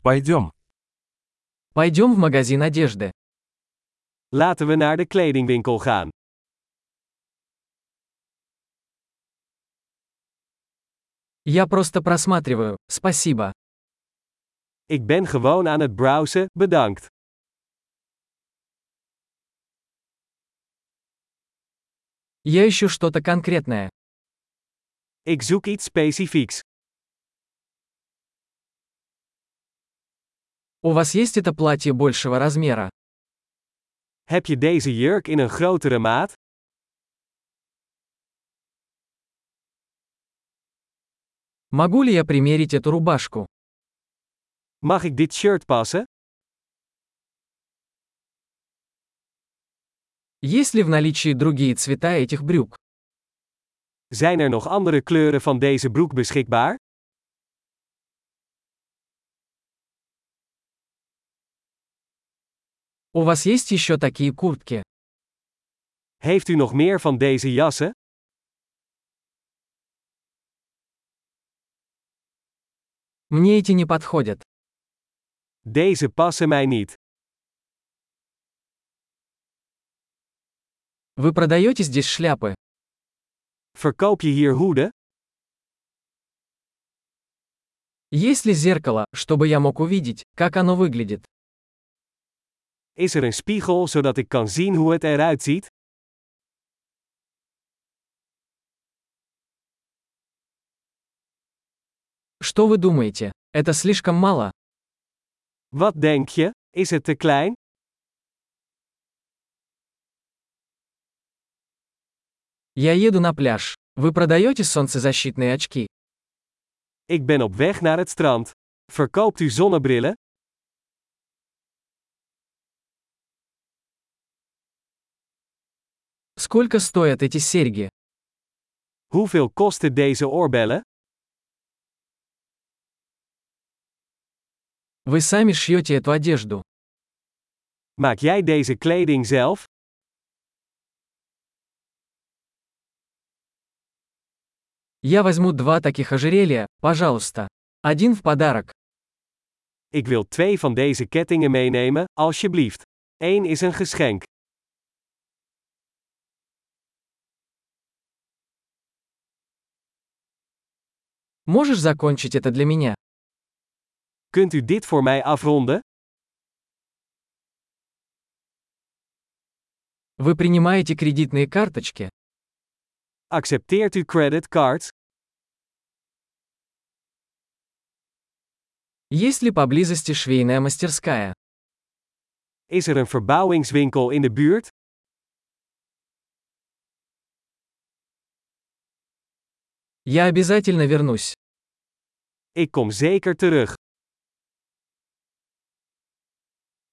Пойдем. Пойдем в магазин одежды. Laten we naar de kledingwinkel gaan. Я просто просматриваю, спасибо. Ik ben gewoon aan het browsen, bedankt. Я ищу что-то конкретное. Ik zoek iets specifieks. У вас есть это платье большего размера? Heb je deze jurk in een grotere maat? Могу ли я примерить эту рубашку? Mag ik dit shirt passen? Есть ли в наличии другие цвета этих брюк? Zijn er nog andere kleuren van deze broek beschikbaar? У вас есть еще такие куртки? Heeft u nog meer van deze jassen? Мне эти не подходят. Deze passen mij niet. Вы продаете здесь шляпы? Verkoop je hier hoeden? Есть ли зеркало, чтобы я мог увидеть, как оно выглядит? Is er een spiegel zodat ik kan zien hoe het eruit ziet? Что вы думаете? Это слишком мало? Wat denk je? Is het te klein? Я еду на пляж. Вы продаете солнцезащитные очки? Ik ben op weg naar het strand. Verkoopt u zonnebrillen? Сколько стоят эти серьги? Hoeveel kosten deze oorbellen? Вы сами шьете эту одежду. Maak jij deze kleding zelf? Я возьму 2 таких ожерелья, пожалуйста. Один в подарок. Ik wil 2 van deze kettingen meenemen, alsjeblieft. 1 is een geschenk. Можешь закончить это для меня? Kunt u dit voor mij afronden? Вы принимаете кредитные карточки? Accepteert u creditcards? Есть ли поблизости швейная мастерская? Is er een verbouwingswinkel in de buurt? Я обязательно вернусь. Ik kom zeker terug.